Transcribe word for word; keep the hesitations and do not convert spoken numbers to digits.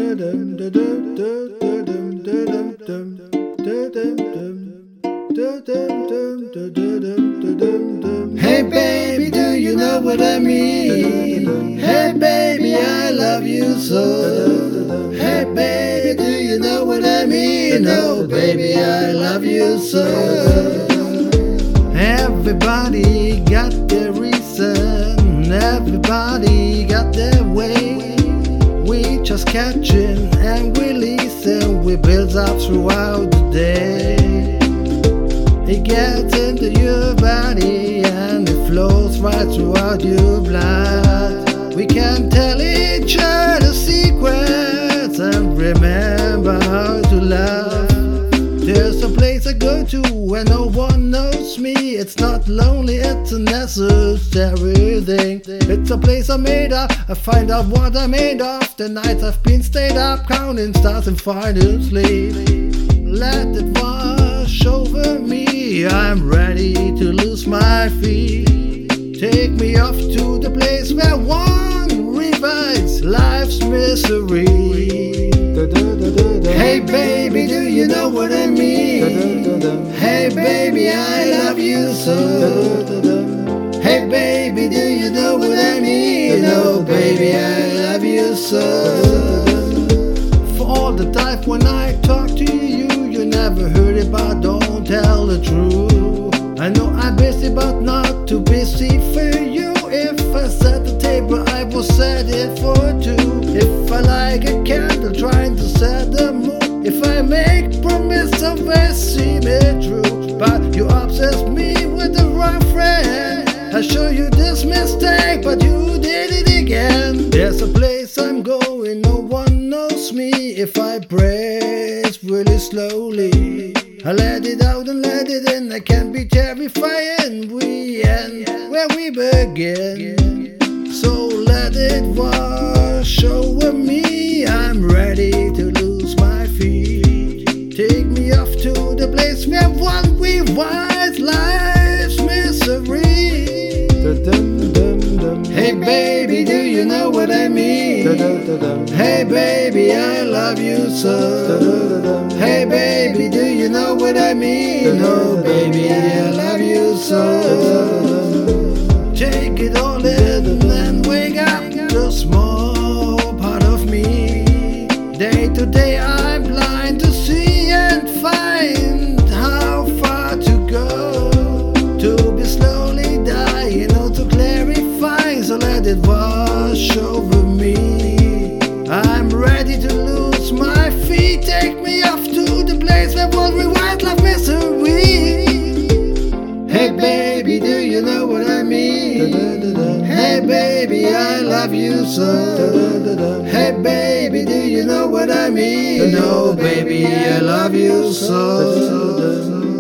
Hey baby, do you know what I mean? Hey baby, I love you so. Hey baby, do you know what I mean? Oh baby, I love you so. Everybody got their reason, everybody got their way. We just catching and releasing, we build up throughout the day. It gets into your body and it flows right throughout your blood. We can tell each other secrets and remember how to love. There's a place I go to when no one knows me. It's not lonely, it's a necessary thing. It's a place I made up, I find out what I'm made of. The nights I've been stayed up, counting stars and finding sleep. Let it wash over me, I'm ready to lose my feet. Take me off to the place where one revives life's misery. Hey baby, do you know what I mean? Hey baby, I love you so. Hey baby, do you know what I mean? Oh baby, I love you so. For all the time when I talk to you, you never heard it, but don't tell the truth. I know I'm busy, but not too busy for you. If I set the table, I will set it for two. If I like a candle, trying to set the mood. If I make promise, always seem it true. But you obsess me with the wrong friend. I show you this mistake, but you did it again. There's a place I'm going, no one knows me. If I praise really slowly, I let it out and let it in. I can be terrifying. We end where we begin. So let it wash over me. I'm ready to lose my feet. Take me off to the place where one revives life's misery. Hey baby, do you know what I mean? Hey baby, I love you so. Hey baby, do you know what I mean? Oh baby, I love you so. Take it all in and wake up the small part of me. Day to day I'm blind to see and find how far to go. To be slowly dying or to clarify, so let it wash over me. I'm ready to lose my feet. Take me off to the place where one rewind love misery. Hey baby, do you know what I mean? Hey baby, I love you so. Hey baby, do you know what I mean? Oh baby, I love you so.